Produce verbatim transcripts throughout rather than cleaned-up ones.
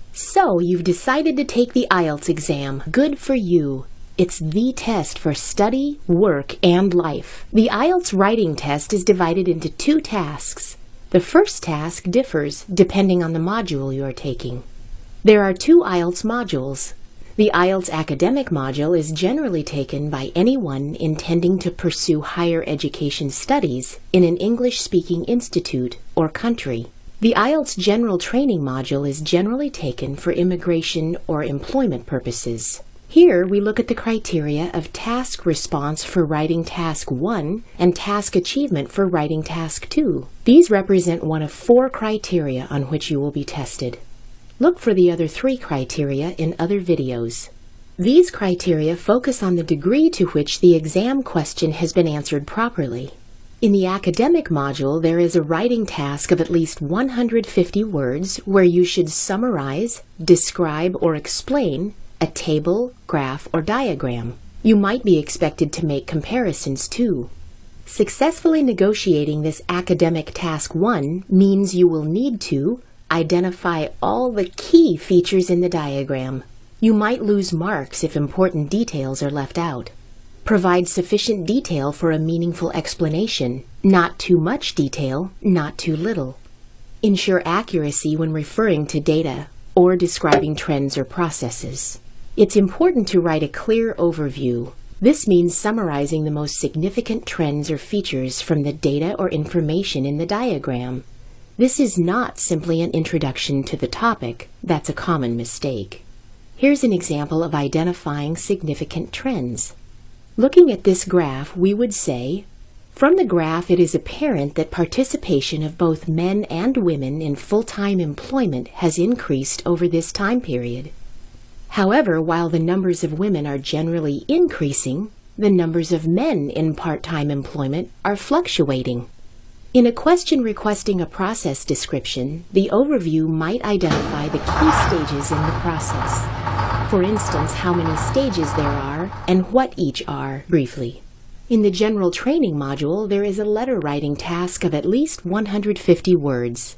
So, you've decided to take the I E L T S exam. Good for you. It's the test for study, work, and life. The I E L T S writing test is divided into two tasks. The first task differs depending on the module you are taking. There are two I E L T S modules. The I E L T S academic module is generally taken by anyone intending to pursue higher education studies in an English-speaking institute or country. The I E L T S general training module is generally taken for immigration or employment purposes. Here we look at the criteria of task response for writing task one and task achievement for writing task two. These represent one of four criteria on which you will be tested. Look for the other three criteria in other videos. These criteria focus on the degree to which the exam question has been answered properly. In the academic module, there is a writing task of at least one hundred fifty words where you should summarize, describe, or explain a table, graph, or diagram. You might be expected to make comparisons too. Successfully negotiating this academic task one means you will need to identify all the key features in the diagram. You might lose marks if important details are left out. Provide sufficient detail for a meaningful explanation, not too much detail, not too little. Ensure accuracy when referring to data or describing trends or processes. It's important to write a clear overview. This means summarizing the most significant trends or features from the data or information in the diagram. This is not simply an introduction to the topic. That's a common mistake. Here's an example of identifying significant trends. Looking at this graph, we would say, from the graph it is apparent that participation of both men and women in full-time employment has increased over this time period. However, while the numbers of women are generally increasing, the numbers of men in part-time employment are fluctuating. In a question requesting a process description, the overview might identify the key stages in the process. For instance, how many stages there are and what each are, briefly. In the general training module, there is a letter writing task of at least one hundred fifty words.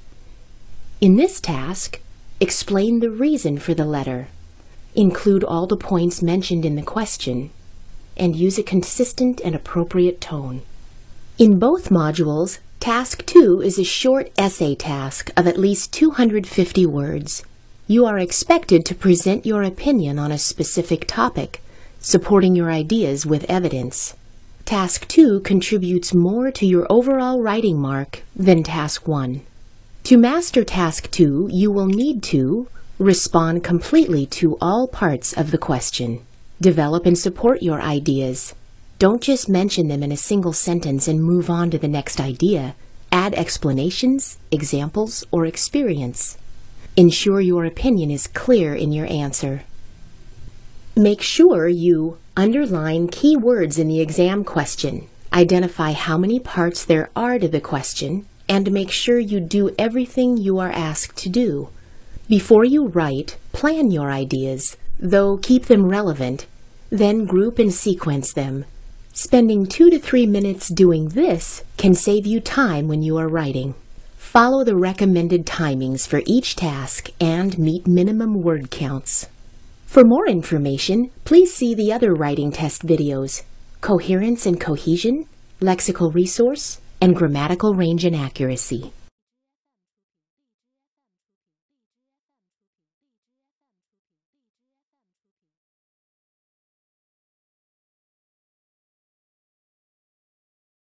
In this task, explain the reason for the letter. Include all the points mentioned in the question, and use a consistent and appropriate tone. In both modules, Task two is a short essay task of at least two hundred fifty words. You are expected to present your opinion on a specific topic, supporting your ideas with evidence. Task two contributes more to your overall writing mark than Task one. To master Task two, you will need to respond completely to all parts of the question. Develop and support your ideas. Don't just mention them in a single sentence and move on to the next idea. Add explanations, examples, or experience. Ensure your opinion is clear in your answer. Make sure you underline key words in the exam question, identify how many parts there are to the question, and make sure you do everything you are asked to do. Before you write, plan your ideas, though keep them relevant, then group and sequence them. Spending two to three minutes doing this can save you time when you are writing. Follow the recommended timings for each task and meet minimum word counts. For more information, please see the other writing test videos: Coherence and Cohesion, Lexical Resource, and Grammatical Range and Accuracy.